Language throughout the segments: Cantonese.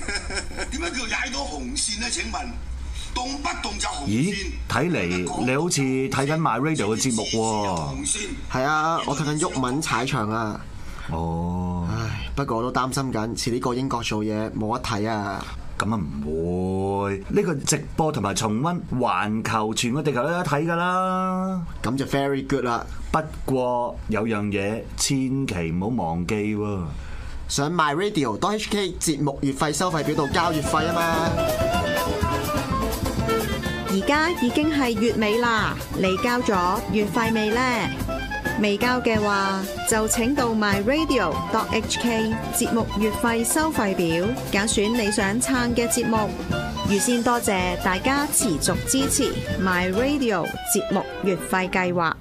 點解叫踩到紅線咧？請問動不動就紅線？ 咦，睇嚟你好似睇緊 My Radio 嘅節目喎。 係啊，我睇緊毓民踩場啊。 哦， 唉，不過我都擔心緊，遲啲過英國做嘢冇得睇啊。 咁啊唔會，呢個直播同埋重溫，環球全個地球都有得睇㗎啦。 咁就 very good 啦。 不過有樣嘢千祈唔好忘記喎， 上 myradio.hk 節目月費收費表度交月費啊嘛。 而家已經係月尾啦，你交咗月費未呢？未交嘅話，就請到 myradio.hk 節目月費收費表，揀選你想撐嘅節目。預先多謝大家持續支持 myradio 節目月費計劃。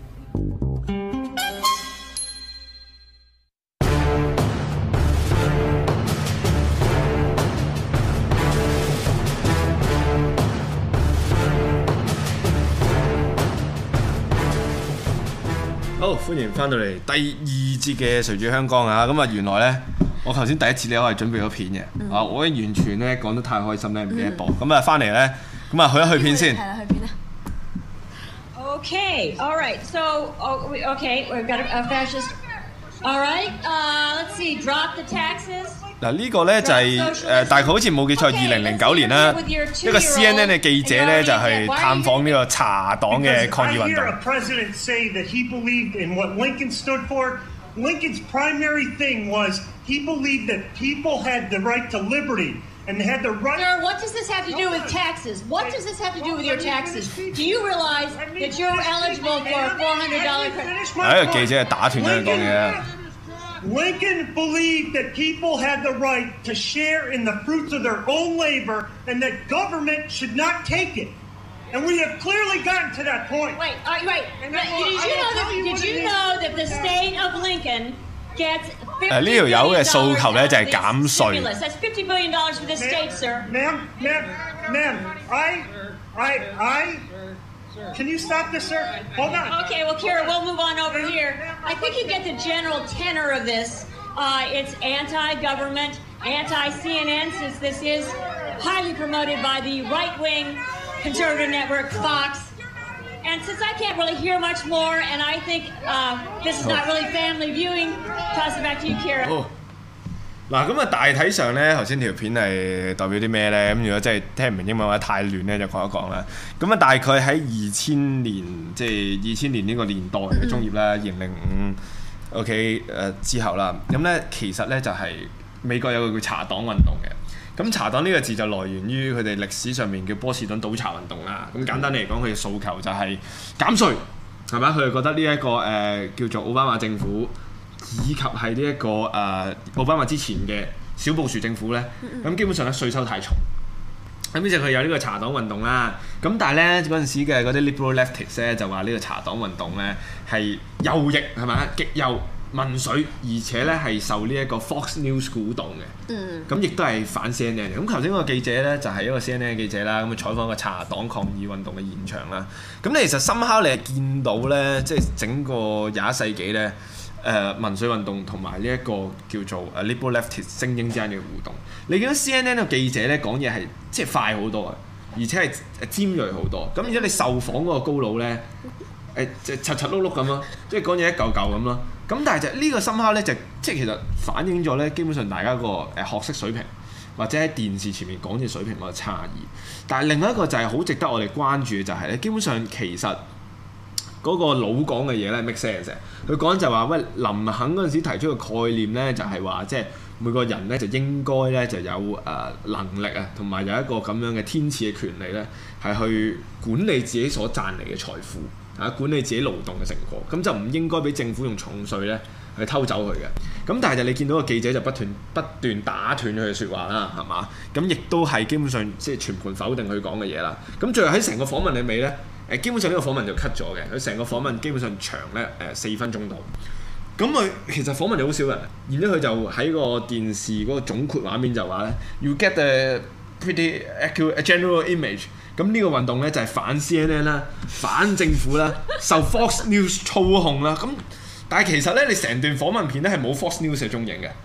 好，歡迎翻到嚟第二節嘅誰主香江啊！咁啊，原來咧，我頭先第一次咧，我係準備咗片嘅，我完全咧講得太開心咧，唔記得播。咁啊，翻嚟咧，咁啊，去一去片先。 係啦，去片啦。Okay, all right. So, okay, we've got a fascist. All right, let's see. Drop the taxes. 嗱，呢個咧就係大概好似冇記錯，2009年啦，一個 CNN 嘅記者咧就係探訪呢個茶黨嘅抗議運動。 Lincoln's primary thing was he believed that people had the right to liberty and they had the right. Sir, what does this have to do with taxes? What does this have to do with your taxes? Do you realize that you're eligible for a $400 credit? 呢個記者係打斷咗佢講嘢。 Lincoln believed that people had the right to share in the fruits of their own labor and that government should not take it. And we have clearly gotten to that point. Wait. Did you know that the state of Lincoln gets 呢條友嘅訴求咧就係減稅。 That's $50 billion for the state, sir. Ma'am, Can you stop this, sir? Hold on. Okay, well, Kira, we'll move on over here. I think you get the general tenor of this. It's anti-government, anti-CNN, since this is highly promoted by the right-wing conservative network, Fox. And since I can't really hear much more, and I think this is not really family viewing, toss it back to you, Kira. 嗱，咁啊大體上咧，頭先條片係代表啲咩咧？咁如果真係聽唔明英文或者太亂咧，就講一講啦。咁啊，大概喺2000年，即係2000年呢個年代嘅中葉啦，2005 OK 之後啦。咁咧其實咧就係美國有個叫茶黨運動嘅。咁茶黨呢個字就來源於佢哋歷史上面叫波士頓倒茶運動啦。咁簡單嚟講，佢嘅訴求就係減稅，係咪？佢哋覺得呢一個叫做奧巴馬政府。以及係呢一個奧巴馬之前嘅小布殊政府咧，咁基本上咧稅收太重，咁於是佢有呢個茶黨運動啦。咁但係咧嗰陣時嘅嗰啲 liberal leftists 咧就話呢個茶黨運動咧係右翼係咪？極右民粹，而且咧係受呢一個 Fox News 鼓動嘅。咁亦都係反 CNN 嘅。咁頭先嗰個記者咧就係一個 CNN 嘅記者啦，咁採訪一個茶黨抗議運動嘅現場啦。咁你其實深刻你係見到咧，即係整個21世紀咧。民粹運動同埋呢一個叫做liberal leftist 精英之間嘅互動，你見到 CNN 個記者咧講嘢係即係快好多啊，而且係尖鋭好多。咁而且你受訪嗰個高佬咧即係柒柒碌碌咁咯，即係講嘢一嚿嚿咁咯。咁但係就呢個深刻咧就即係其實反映咗咧，基本上大家個學識水平或者喺電視前面講嘢水平個差異。但係另外一個就係好值得我哋關注嘅就係咧，基本上其實。嗰個老講嘅嘢咧 make sense 嘅，佢講就話喂林肯嗰陣時提出個概念咧，就係話即係每個人咧就應該咧就有能力啊，同埋有一個咁樣嘅天賜嘅權利咧，係去管理自己所賺嚟嘅財富啊，管理自己勞動嘅成果，咁就唔應該俾政府用重稅咧去偷走佢嘅。咁但係就你見到個記者就不斷打斷佢嘅説話啦，係嘛？咁亦都係基本上即係全盤否定佢講嘅嘢啦。咁最後喺成個訪問裏尾咧。基本上呢個訪問就 cut 咗嘅，佢成個訪問基本上長咧4分鐘度。咁佢其實訪問咗好少人，然之後佢就喺個電視嗰個總括畫面就話咧 ，you get a pretty accurate general image。咁呢個運動咧就係反 CNN 啦，反政府啦，受 Fox News 操控啦。咁但係其實咧，你成段訪問片咧係冇 Fox News 嘅蹤影嘅。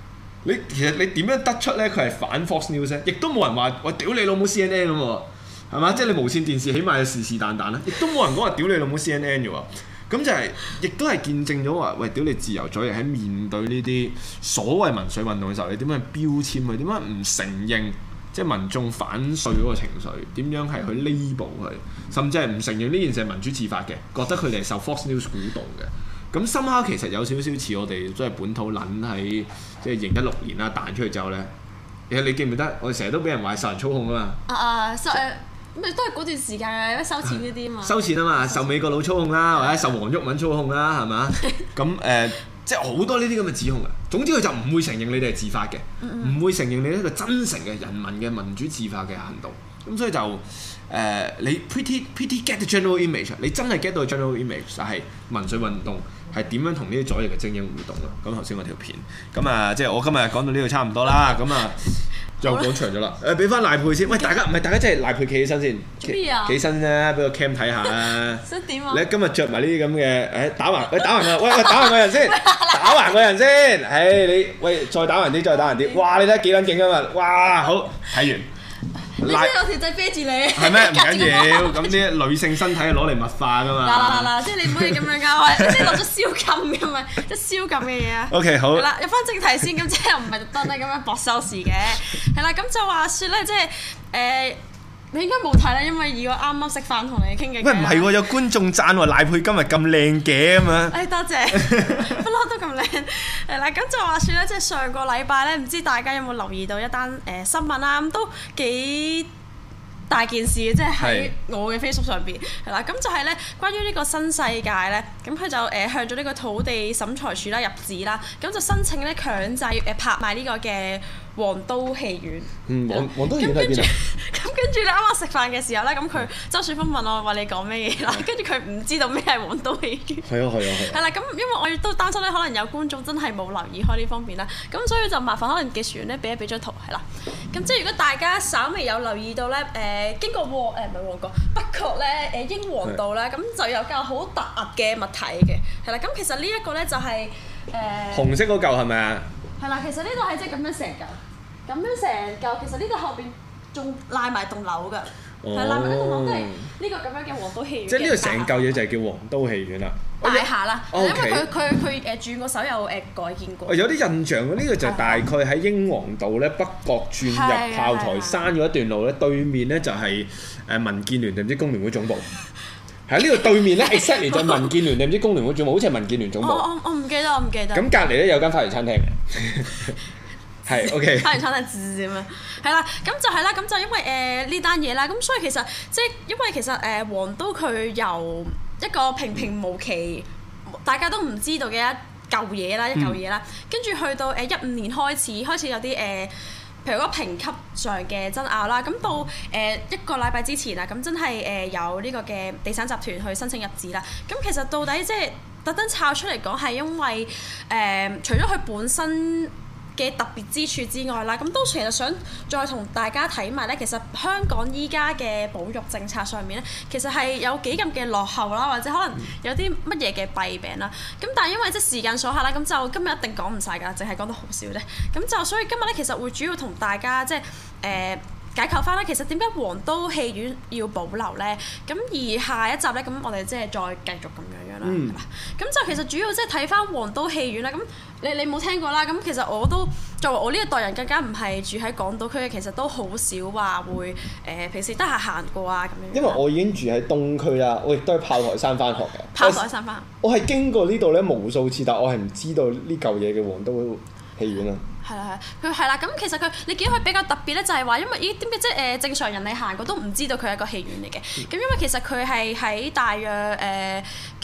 其實你點樣得出咧？佢係反 Fox News 咧，亦都冇人話喂屌你老母 CNN 咁喎，係嘛？即係你無線電視起碼有是但啦，亦都冇人講話屌你老母 CNN 嘅喎。咁就係亦都係見證咗話喂屌你自由左翼喺面對呢啲所謂民粹運動嘅時候，你點樣標籤佢？點解唔承認即係民眾反稅嗰個情緒？點樣係去 label 佢？甚至係唔承認呢件事係民主自發嘅，覺得佢哋係受 Fox News 鼓動嘅。咁深刻其實有少少似我哋即係本土撚喺即係2016年啦彈出去之後咧，其實你記唔記得我哋成日都俾人話受人操控啊嘛？ 咁咪都係嗰段時間嘅收錢嗰啲啊嘛。收錢啊嘛，受美國佬操控啦，或者受黃毓民操控啦，係嘛？咁即係好多呢啲咁嘅指控啊。總之佢就唔會承認你哋係自發嘅，唔會承認你一個真誠嘅人民嘅民主自發嘅行動。咁所以就你 pretty get the general image， 你真係 get 到 general image 就係民粹運動係點樣同呢啲左翼嘅精英互動咯。咁頭先嗰條片，咁即係我今日講到呢度差唔多啦。咁就講長咗啦。俾翻賴珮先。喂，大家真係賴珮企起身先。 咩啊？ 企起身啫，俾個 cam 睇下啦。 想點啊？ 你今日着埋呢啲咁嘅，打橫啊！喂，打橫個人先，打橫個人先。你再打橫啲。哇！你睇幾撚勁啊嘛！哇，好睇完。 你知我條仔啤住你係咩？唔緊要，咁啲女性身體係攞嚟物化噶嘛。 嗱，即係你唔可以咁樣㗎，即係落咗宵禁㗎嘛，即係宵禁嘅嘢啊。 OK， 好。係啦，入翻正題先，咁即係又唔係特登咧咁樣搏收視嘅，係啦，咁就話説咧，即係你應該冇睇啦，因為如果啱啱食飯同你傾嘅。喂， 唔係喎，有觀眾讚喎，賴珮今日咁靚嘅咁樣。 多謝，不嬲都咁靚。係啦，咁就話説咧，即係上個禮拜咧，唔知大家有冇留意到一單新聞啦？咁都幾大件事嘅，即係喺我嘅 Facebook 上邊係啦。咁就係咧，關於呢個新世界咧，咁佢就向咗呢個土地審裁處啦入紙啦，咁就申請咧強制拍賣呢個嘅皇都戲院。 皇都戲院喺邊啊？ 咁跟住你啱啱食飯嘅時候咧，咁佢周樹峰問我話你講咩嘢啦？跟住佢唔知道咩係皇都戲院。係啊。係啦，咁因為我亦都擔心咧，可能有觀眾真係冇留意開呢方面啦，咁所以就麻煩可能技術員咧俾張圖係啦。咁即係如果大家稍微有留意到咧，經過唔係旺角北角咧英皇道咧，咁就有嚿好突兀嘅物體嘅，係啦。咁其實呢一個咧就係紅色嗰嚿係咪啊？ 係啦，其實呢度係即係咁樣成嚿，其實呢度後邊仲賴埋棟樓㗎，係賴埋呢棟樓都係呢個咁樣嘅皇都戲院。即係呢個成嚿嘢就係叫皇都戲院啦。大廈啦，因為佢轉個手有改建過。有啲印象呢個就大概喺英皇道咧北角轉入炮台山嗰一段路咧，對面咧就係民建聯定唔知工聯會總部。喺呢度對面咧 exactly 就係民建聯定唔知工聯會總部，好似係民建聯總部。我唔記得。咁隔離咧有間花園餐廳嘅。係 OK。花園餐廳咁樣，係啦，咁就因為呢單嘢啦，咁所以其實即係因為其實皇都佢由一個平平無奇，大家都唔知道嘅一嚿嘢啦，跟住去到15年開始有啲譬如嗰評級上嘅爭拗啦，咁到一個禮拜之前啊，咁真係有呢個嘅地產集團去申請入紙啦。咁其實到底即係特登抄出嚟講係因為除咗佢本身嘅特別之處之外啦，咁都其實想再同大家睇埋咧，其實香港依家嘅保育政策上面咧，其實係有幾咁嘅落後啦，或者可能有啲乜嘢嘅弊病啦。咁但係因為即係時間所限啦，咁就今日一定講唔晒㗎，淨係講得好少啫。咁就所以今日咧，其實會主要同大家即係解構翻啦，其實點解皇都戲院要保留咧？咁而下一集咧，咁我哋即係再繼續咁樣啦。咁就其實主要即係睇翻皇都戲院啦。咁你冇聽過啦。咁其實我都作為我呢一代人，更加唔係住喺港島區嘅，其實都好少話會平時得閒行過啊咁樣。因為我已經住喺東區啦，我亦都喺炮台山翻學嘅。炮台山翻學。我係經過呢度咧無數次，但我係唔知道呢嚿嘢嘅皇都戲院啊。係啦，佢係啦，咁其實你見到佢比較特別咧，就係話因為點解即係正常人你行過都唔知道佢係一個戲院嚟嘅。咁因為其實佢係喺大約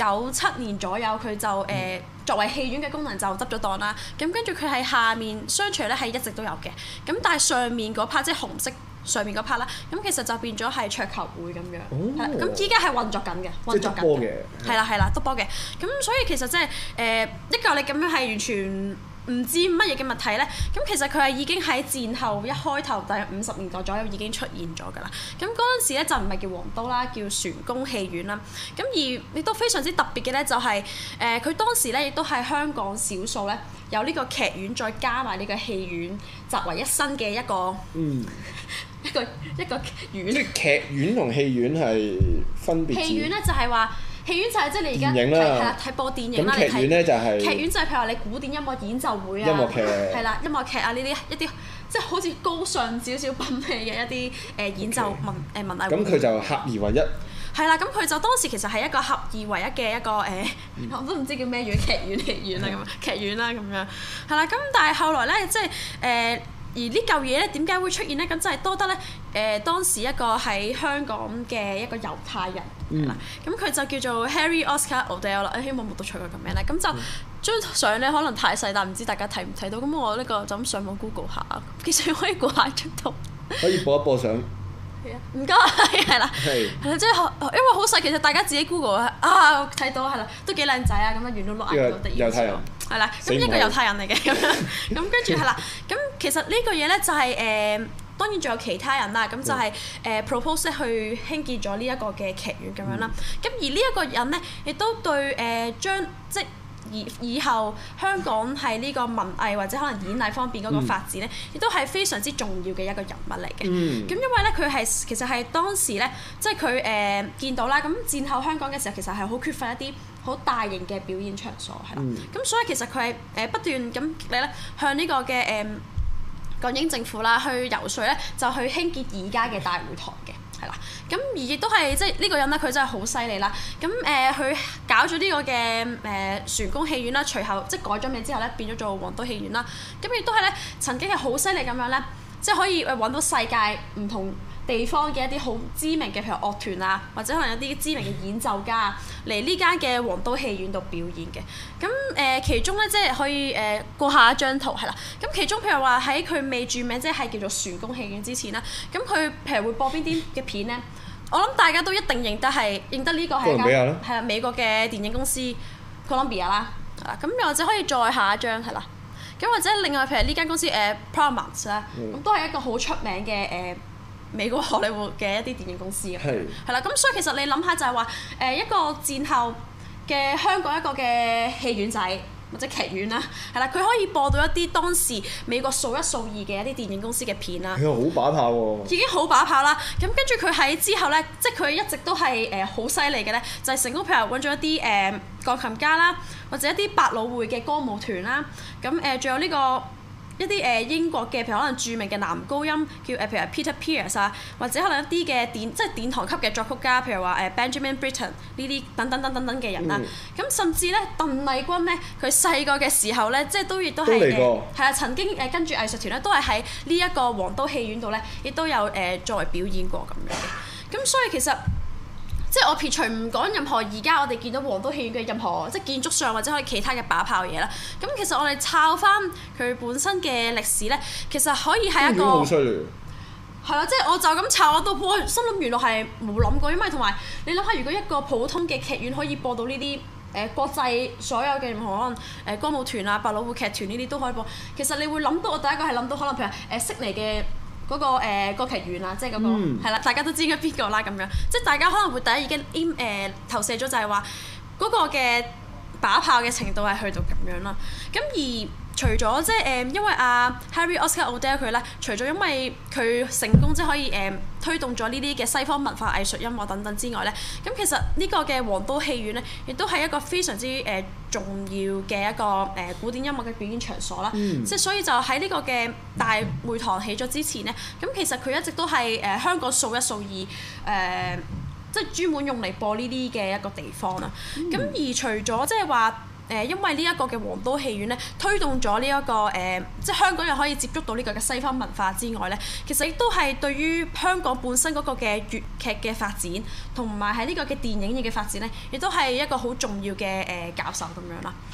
97年左右，佢就作為戲院嘅功能就執咗檔啦。咁跟住佢喺下面商場咧係一直都有嘅。咁但係上面嗰 part 即係紅色上面嗰 part 啦，咁其實就變咗係桌球會咁樣。係啦，咁依家係運作緊嘅，即係篤波嘅。係啦，篤波嘅。咁所以其實即係一嚿你咁樣係完全唔知乜嘢嘅物體咧？咁其實佢係已經喺戰後一開頭大約50年代左右已經出現咗㗎啦。咁嗰陣時咧就唔係叫黃都啦，叫璇宮戲院啦。咁而亦都非常之特別嘅咧，就係佢當時咧亦都係香港少數咧有呢個劇院再加埋呢個戲院集為一身嘅一個一個院。 即係劇院同戲院係分別。 戲院咧就係話。戲院就係即係你而家係啦，睇播電影啦。 咁劇院咧就係劇院就係譬如話你古典音樂演奏會啊， 音樂劇係啦，音樂劇啊呢啲一啲即係好似高尚少少品味嘅一啲演奏文藝會。 咁佢就合二為一。 係啦，咁佢就當時其實係一個合二為一嘅一個我都唔知叫咩院，劇院戲院啦咁，劇院啦咁樣係啦。咁但係後來咧，即係而呢嚿嘢咧點解會出現咧？咁就係多得咧當時一個喺香港嘅一個猶太人啦。咁佢就叫做 Harry Oscar Odell 啦。希望冇讀錯佢個名咧。咁就張相咧可能太細，但唔知大家睇唔睇到。咁我呢個就咁上網 Google 下，其實可以估下張圖。 可以播一播相。 係啊，唔該，係啦，係啦，即係因為好細，其實大家自己 Google 啊睇到係啦，都幾靚仔啊，咁樣圓到碌眼嗰啲。猶太人。係啦，咁一個猶太人嚟嘅咁樣，咁跟住係啦，咁其實呢個嘢咧就係當然仲有其他人啦，咁就係propose 去興建咗呢一個嘅劇院咁樣啦。咁而呢一個人咧，亦都對將即以後香港喺呢個文藝或者可能演藝方面嗰個發展咧，亦都係非常之重要嘅一個人物嚟嘅。咁因為咧佢係其實係當時咧，即係佢見到啦，咁戰後香港嘅時候其實係好缺乏一啲好大型嘅表演場所係啦。咁所以其實佢係不斷咁咧向呢個嘅港英政府啦去游說咧，就去興建而家嘅大會堂嘅。係啦，咁而亦都係即係呢個人咧，佢真係好犀利啦。咁佢搞咗呢個嘅璇宮戲院啦，隨後即係改咗名之後咧，變咗做黃都戲院啦。咁亦都係咧，曾經係好犀利咁樣咧，即係可以揾到世界唔同地方嘅一啲好知名嘅，譬如樂團啊，或者可能一啲知名嘅演奏家嚟呢間嘅黃都戲院度表演嘅。咁其中咧，即係可以過下一張圖係啦。咁其中譬如話喺佢未註名，即係叫做璇宮戲院之前啦，咁佢譬如會播邊啲嘅片咧？我諗大家都一定認得呢個係間係啦美國嘅電影公司 Columbia 啦。係啦，咁又或者可以再下一張係啦。咁或者另外譬如呢間公司Paramount 啦，咁都係一個好出名嘅美國荷里活嘅一啲電影公司嘅，係啦，咁所以其實你諗下就係話一個戰後嘅香港一個嘅戲院仔或者劇院啦，係啦，佢可以播到一啲當時美國數一數二嘅一啲電影公司嘅片啦。 佢好把炮喎！ 已經好把炮啦，咁跟住佢喺之後咧，即係佢一直都係好犀利嘅咧，就係成功譬如揾咗一啲鋼琴家啦，或者一啲百老匯嘅歌舞團啦，咁仲有呢個。一啲英國嘅譬如可能著名嘅男高音叫譬如 Peter Pierce 啊，或者可能一啲嘅即係殿堂級嘅作曲家，譬如話Benjamin Britten 呢啲等等嘅人啦。咁甚至咧鄧麗君咧，佢細個嘅時候咧，即係亦都係係啊曾經跟住藝術團咧，都係喺呢一個黃都戲院度咧，亦都有作為表演過咁樣嘅。咁所以其實。即係我撇除唔講任何而家我哋見到黃都戲院嘅任何即係建築上或者可以其他嘅把炮嘢啦，咁其實我哋抄翻佢本身嘅歷史咧，其實可以係一個好犀利。 係啦，即係我就咁抄我都心諗原來係冇諗過，因為同埋你諗下，如果一個普通嘅劇院可以播到呢啲國際所有嘅任何可能歌舞團啊、百老匯劇團呢啲都可以播，其實你會諗到我第一個係諗到可能譬如悉尼嘅。嗰個歌劇院啊，即係嗰個係啦，大家都知應該邊個啦咁樣，即係大家可能會第一已經投射咗就係話嗰個嘅把炮嘅程度係去到咁樣啦。咁而除咗即係因為Harry Oscar Odell 佢咧，除咗因為佢成功即係可以推動咗呢啲嘅西方文化藝術音樂等等之外咧，咁其實呢個嘅黃都戲院咧，亦都係一個非常之重要嘅一個古典音樂嘅表演場所啦。即係所以就喺呢個嘅大會堂起咗之前咧，咁其實佢一直都係香港數一數二即係專門用嚟播呢啲嘅一個地方啦。咁而除咗即係話因為呢一個嘅黃都戲院咧，推動咗呢一個即係香港人可以接觸到呢個嘅西方文化之外咧，其實亦都係對於香港本身嗰個嘅粵劇嘅發展，同埋喺呢個嘅電影業嘅發展咧，亦都係一個好重要嘅教授咁樣啦。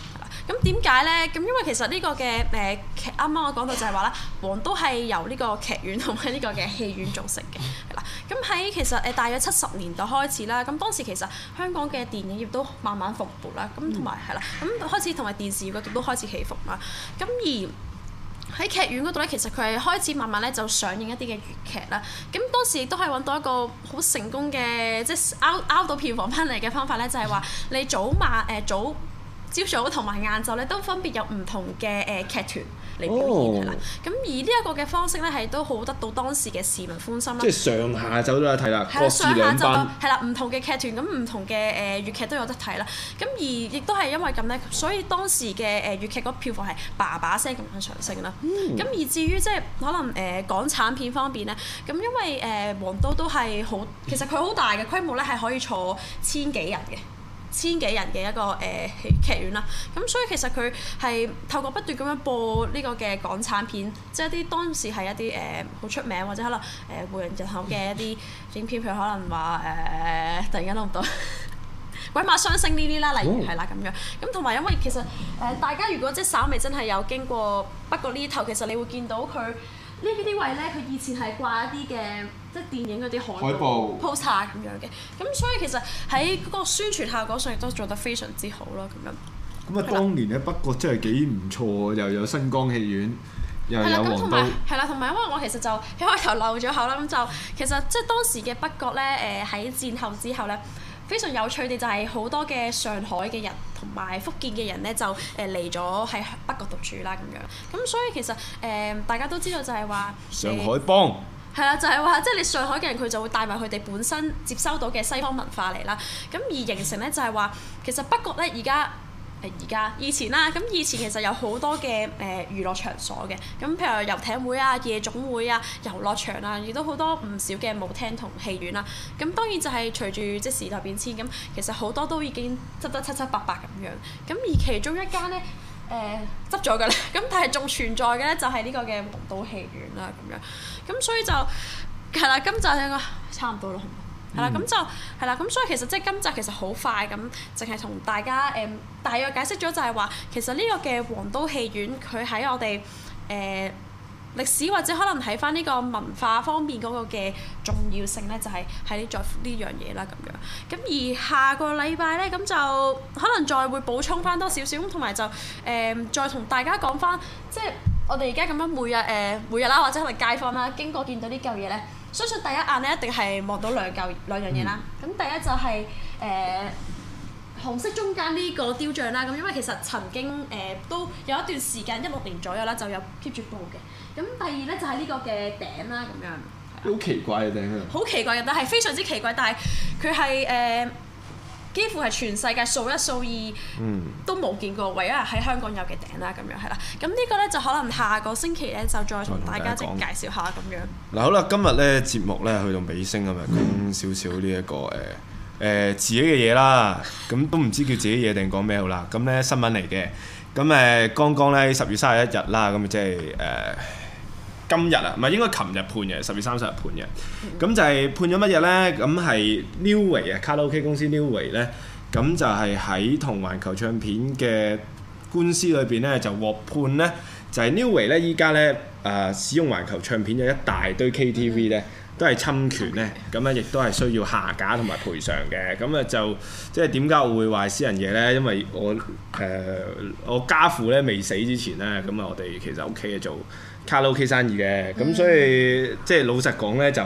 咁點解咧？咁因為其實呢個嘅劇啱啱我講到就係話啦，黃都係由呢個劇院同埋呢個嘅戲院組成嘅，係啦。咁喺其實大約70年代開始啦，咁當時其實香港嘅電影業都慢慢復勃啦，咁同埋係啦，咁開始同埋電視嗰度都開始起伏啦，咁而喺劇院嗰度咧，其實佢係開始慢慢咧就上映一啲嘅粵劇啦。咁當時亦都係揾到一個好成功嘅，即係拗到票房翻嚟嘅方法咧，就係話你朝早同埋晏晝咧都分別有唔同嘅劇團嚟表演係啦。咁而呢一個嘅方式咧係都好得到當時嘅市民歡心啦。 即係上下晝都有得睇啦，各自兩班。 係啦，唔同嘅劇團咁唔同嘅粵劇都有得睇啦。咁而亦都係因為咁咧，所以當時嘅粵劇嗰票房係叭叭聲咁樣上升啦。咁而至於即係可能港產片方面咧，咁因為黃都係好，其實佢好大嘅規模咧，係可以坐千幾人嘅一個劇院啦，咁所以其實佢係透過不斷咁樣播呢個嘅港產片，即係一啲當時係一啲好出名或者可能薈揚人口嘅一啲影片，譬如可能話突然間諗唔到鬼馬雙星呢啲啦，例如係啦咁樣，咁同埋因為其實大家如果即係稍微真係有經過北角呢頭，其實你會見到佢。呢啲位咧，佢以前係掛一啲嘅，即係電影嗰啲海報 poster 咁樣嘅，咁所以其實喺嗰個宣傳效果上亦都做得非常之好咯，咁樣。 咁啊，當年喺北角真係幾唔錯，又有新光戲院，又有黃都。 係啦，同埋因為我其實就一開頭漏咗口啦，咁就其實即係當時嘅北角咧，喺戰後之後咧。非常有趣嘅就係好多嘅上海嘅人同埋福建嘅人咧，就嚟咗喺北角讀書啦咁樣。咁所以其實大家都知道就係話上海幫係啦，就係話即係你上海嘅人佢就會帶埋佢哋本身接收到嘅西方文化嚟啦。咁而形成咧就係話其實北角咧以前啦，咁以前其實有好多嘅娛樂場所嘅，咁譬如遊艇會啊、夜總會啊、遊樂場啊，亦都好多唔少嘅舞廳同戲院啦。咁當然就係隨住即時代變遷，咁其實好多都已經執得七七八八咁樣。咁而其中一間咧執咗㗎啦，咁但係仲存在嘅咧就係呢個嘅黃都戲院啦咁樣。咁所以就係啦，今集應該差唔多啦。係啦，咁就係啦，咁所以其實即係今集其實好快咁，淨係同大家大約解釋咗就係話，其實呢個嘅黃都戲院佢喺我哋歷史或者可能睇翻呢個文化方面嗰個嘅重要性咧，就係喺呢樣嘢啦咁樣。咁而下個禮拜咧，咁就可能再會補充翻多少少，咁同埋就再同大家講翻，即係我哋而家咁樣每日啦，或者可能街坊啦，經過見到呢嚿嘢咧。相信第一眼咧一定係望到兩樣嘢啦。咁第一就係紅色中間呢個雕像啦。咁因為其實曾經都有一段時間16年左右啦，就有 keep 住報嘅。咁第二咧就係呢個嘅頂啦，咁樣。 好奇怪嘅頂啊！ 好奇怪嘅，但係非常之奇怪，但係佢係幾乎係全世界數一數二都冇見過，唯一喺香港有嘅頂啦，咁樣係啦。咁呢個咧就可能下個星期咧就再同大家即係介紹下咁樣。 嗱好啦，今日咧節目咧去到尾聲啊嘛，講少少呢一個自己嘅嘢啦。咁都唔知叫自己嘢定講咩好啦。咁咧新聞嚟嘅。咁剛剛咧10月31日啦，咁即係今日啊，唔係應該琴日判嘅10月30日判嘅，咁就係判咗乜嘢咧？咁係 Neway 啊，卡拉 OK 公司 Neway 咧，咁就係喺同環球唱片嘅官司裏邊咧，就獲判咧，就係 Neway 咧依家咧使用環球唱片嘅一大堆 KTV 咧，都係侵權咧，咁咧亦都係需要下架同埋賠償嘅。咁啊就即係點解我會話私人嘢咧？因為我家父咧未死之前咧，咁啊我哋其實屋企係做卡拉 OK 生意嘅，咁所以即係老實講咧，就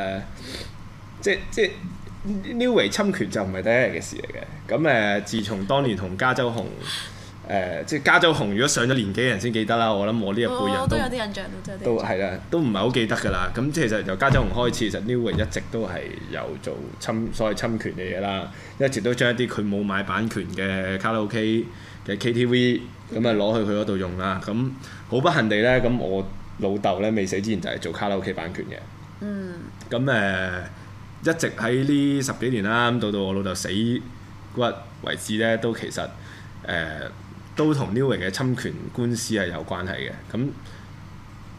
即係 Neway 侵權就唔係第一日嘅事嚟嘅。咁自從當年同加州紅即係加州紅，如果上咗年紀嘅人先記得啦。我諗我呢一輩人都有啲印象， 都係啦，都唔係好記得㗎啦。咁其實由加州紅開始，其實 Neway 一直都係有做所謂侵權嘅嘢啦，一直都將一啲佢冇買版權嘅卡拉 OK 嘅 KTV 咁啊攞去佢嗰度用啦。咁好不幸地咧，咁我老豆咧未死之前就係做卡拉 OK 版權嘅。咁一直喺呢10幾年啦，咁到我老豆死骨為止咧，都其實都同 Neway 嘅侵權官司係有關係嘅。咁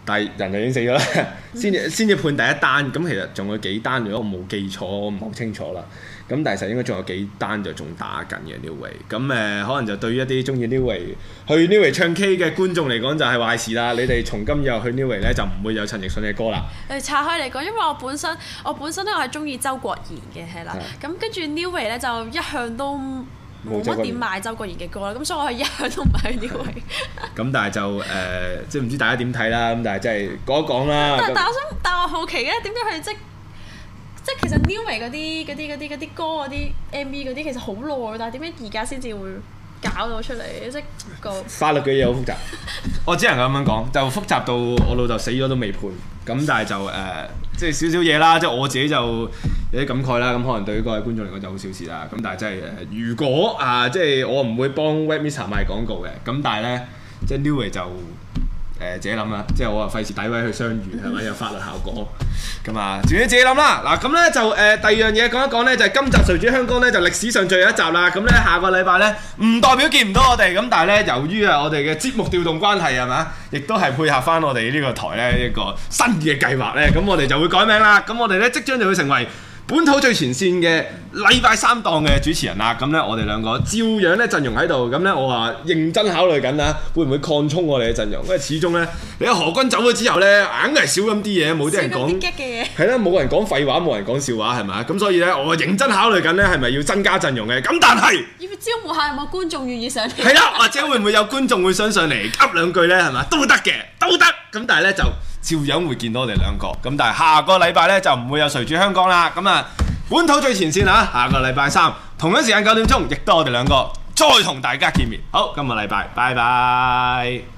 但係人就已經死咗啦，先至判第一單。咁其實仲有幾單，如果我冇記錯，我唔係好清楚啦。咁但係實應該仲有幾單就仲打緊嘅 Neway。咁可能就對於一啲中意 Neway 去 Neway 唱 K 嘅觀眾嚟講就係壞事啦。你哋從今以後去 Neway 咧就唔會有陳奕迅嘅歌啦。 誒拆開嚟講，因為我本身咧我係中意周國賢嘅係啦。咁跟住 Neway 咧就一向都冇乜點買周國賢嘅歌啦。咁所以我係一向都唔係去 Neway。咁但係就即係唔知大家點睇啦。咁但係即係講一講啦。 但我好奇嘅點解佢哋即係其實 Neway 嗰啲歌嗰啲 MV 嗰啲其實好耐，但係點解而家先至會搞到出嚟？即係個法律嘅嘢好複雜，我只能咁樣講，就複雜到我老豆死咗都未判。咁但係就即係少少嘢啦，即係我自己就有啲感慨啦。咁可能對於各位觀眾嚟講就好小事啦。咁但係真係如果即係我唔會幫 Webmesser 賣廣告嘅。咁但係咧，即係 Neway 就自己諗啦。即係我話費事詆毀去相遇係咪有法律效果？咁啊，自己諗啦。嗱，咁咧就第二樣嘢講一講咧，就係今集誰主香江咧就歷史上最後一集啦。咁咧下個禮拜咧唔代表見唔到我哋，咁但係咧由於我哋嘅節目調動關係係嘛，亦都係配合翻我哋呢個台咧一個新嘅計劃咧，咁我哋就會改名啦。咁我哋咧即將就會成為本土最前線嘅禮拜三檔嘅主持人啦。咁咧我哋兩個照樣咧陣容喺度。咁咧我話認真考慮緊啦，會唔會擴充我哋嘅陣容？因為始終咧你何君走咗之後咧，硬係少咁啲嘢，冇啲人講係啦，冇人講廢話，冇人講笑話係咪？咁所以咧我認真考慮緊咧係咪要增加陣容嘅？咁但係要招募下有冇觀眾願意上嚟？ 係啦，或者會唔會有觀眾會想上嚟噏兩句咧？係咪？都得嘅，都得。咁但係咧就照樣會見到我哋兩個。咁但係下個禮拜咧就唔會有誰主香江啦。咁啊本土最前線啊，下個禮拜三同一時間9點鐘，亦都我哋兩個再同大家見面。好，今個禮拜拜拜。